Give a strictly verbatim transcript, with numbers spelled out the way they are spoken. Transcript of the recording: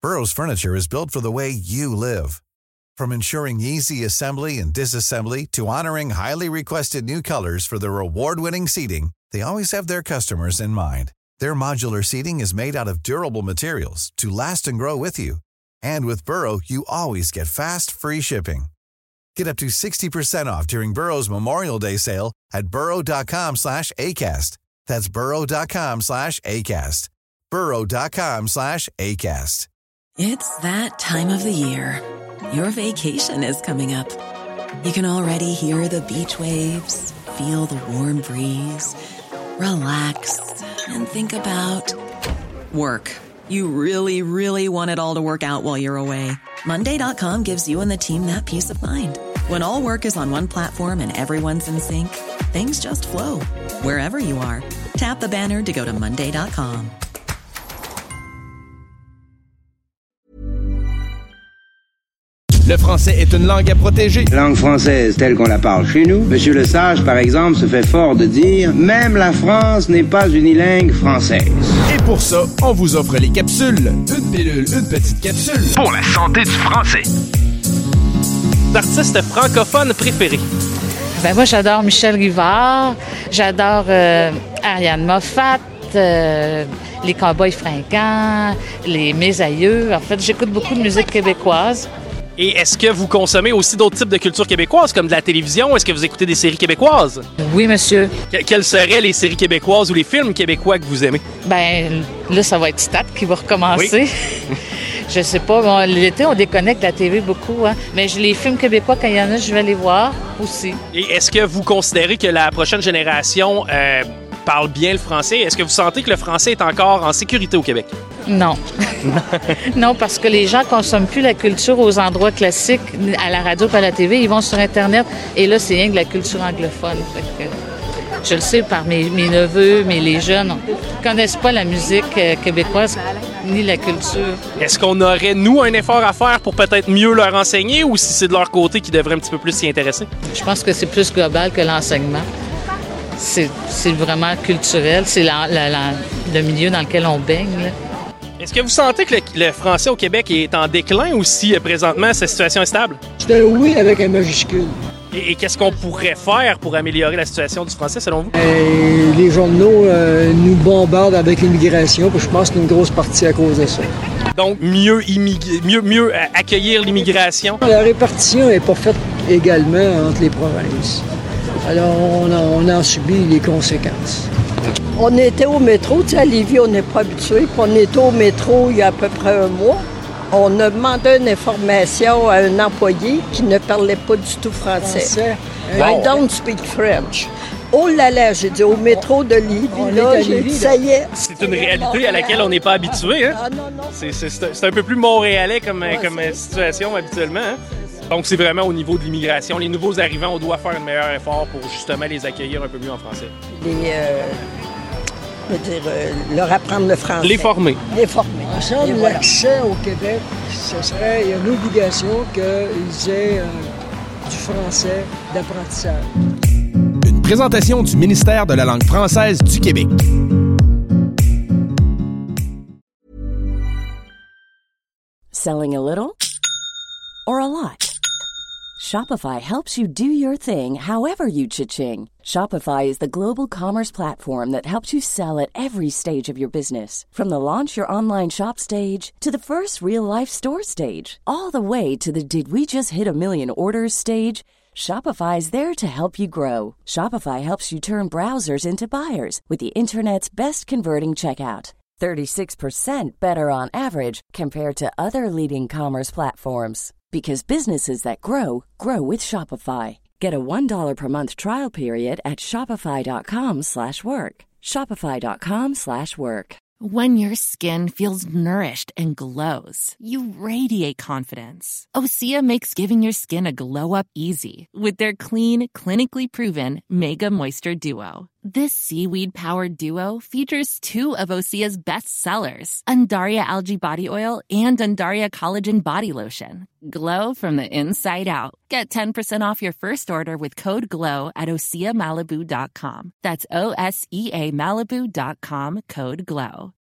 Burrow's furniture is built for the way you live. From ensuring easy assembly and disassembly to honoring highly requested new colors for their award-winning seating, they always have their customers in mind. Their modular seating is made out of durable materials to last and grow with you. And with Burrow, you always get fast, free shipping. Get up to sixty percent off during Burrow's Memorial Day sale at burrow.com slash ACAST. That's burrow.com slash ACAST. burrow.com slash ACAST. It's that time of the year. Your vacation is coming up. You can already hear the beach waves, feel the warm breeze, relax, and think about work. You really, really want it all to work out while you're away. Monday dot com gives you and the team that peace of mind. When all work is on one platform and everyone's in sync, things just flow. Wherever you are, tap the banner to go to monday dot com. Le français est une langue à protéger. Langue française telle qu'on la parle chez nous. Monsieur Le Sage, par exemple, se fait fort de dire « Même la France n'est pas unilingue française ». Et pour ça, on vous offre les capsules. Une pilule, une petite capsule. Pour la santé du français. D'artistes francophones préférés. Ben moi, j'adore Michel Rivard. J'adore euh, Ariane Moffat. Euh, les Cowboys fringants. Les Mes aïeux. En fait, j'écoute beaucoup de musique québécoise. Et est-ce que vous consommez aussi d'autres types de culture québécoise, comme de la télévision? Est-ce que vous écoutez des séries québécoises? Oui, monsieur. Que- quelles seraient les séries québécoises ou les films québécois que vous aimez? Ben là, ça va être Stat qui va recommencer. Oui. Je sais pas. Bon, l'été, on déconnecte la T V beaucoup, hein. Mais les films québécois, quand il y en a, je vais les voir aussi. Et est-ce que vous considérez que la prochaine génération euh, parle bien le français? Est-ce que vous sentez que le français est encore en sécurité au Québec? Non. Non, parce que les gens ne consomment plus la culture aux endroits classiques, à la radio et à la T V. Ils vont sur Internet et là, c'est rien que la culture anglophone. Fait que, je le sais par mes, mes neveux, mais les jeunes ne connaissent pas la musique euh, québécoise ni la culture. Est-ce qu'on aurait, nous, un effort à faire pour peut-être mieux leur enseigner ou si c'est de leur côté qu'ils devraient un petit peu plus s'y intéresser? Je pense que c'est plus global que l'enseignement. C'est, c'est vraiment culturel. C'est la, la, la, le milieu dans lequel on baigne, là. Est-ce que vous sentez que le, le français au Québec est en déclin ou si euh, présentement sa situation est stable? C'est un oui avec un majuscule. Et, et qu'est-ce qu'on pourrait faire pour améliorer la situation du français selon vous? Et les journaux euh, nous bombardent avec l'immigration, puis je pense que c'est une grosse partie à cause de ça. Donc, mieux, immig- mieux, mieux euh, accueillir l'immigration? La répartition n'est pas faite également entre les provinces. Alors, on en, on en subit les conséquences. On était au métro, tu sais, à Lévis, on n'est pas habitué. Puis on était au métro il y a à peu près un mois. On a demandé une information à un employé qui ne parlait pas du tout français. Français. I don't speak French. Oh là là, j'ai dit au métro de Lévis, On là, est à j'ai Lévis, dit, ça y est. C'est une réalité à laquelle on n'est pas habitué, hein? Ah non, non. C'est, c'est, c'est, un, c'est un peu plus montréalais comme, Ouais, comme c'est situation habituellement, hein? Donc, c'est vraiment au niveau de l'immigration. Les nouveaux arrivants, on doit faire un meilleur effort pour justement les accueillir un peu mieux en français. Les, euh, je veux dire, euh, leur apprendre le français. Les former. Les former. En somme, Et voilà. l'accès au Québec, ce serait il y a une obligation qu'ils aient euh, du français d'apprentissage. Une présentation du ministère de la langue française du Québec. Selling a little or a lot? Shopify helps you do your thing however you cha-ching. Shopify is the global commerce platform that helps you sell at every stage of your business. From the launch your online shop stage to the first real-life store stage, all the way to the did we just hit a million orders stage. Shopify is there to help you grow. Shopify helps you turn browsers into buyers with the internet's best converting checkout. thirty-six percent better on average compared to other leading commerce platforms. Because businesses that grow, grow with Shopify. Get a one dollar per month trial period at shopify.com slash work. Shopify.com slash work. When your skin feels nourished and glows, you radiate confidence. Osea makes giving your skin a glow-up easy with their clean, clinically proven Mega Moisture Duo. This seaweed-powered duo features two of Osea's best sellers, Undaria Algae Body Oil and Undaria Collagen Body Lotion. Glow from the inside out. Get ten percent off your first order with code GLOW at osea malibu dot com. That's O S E A Malibu dot com, code GLOW.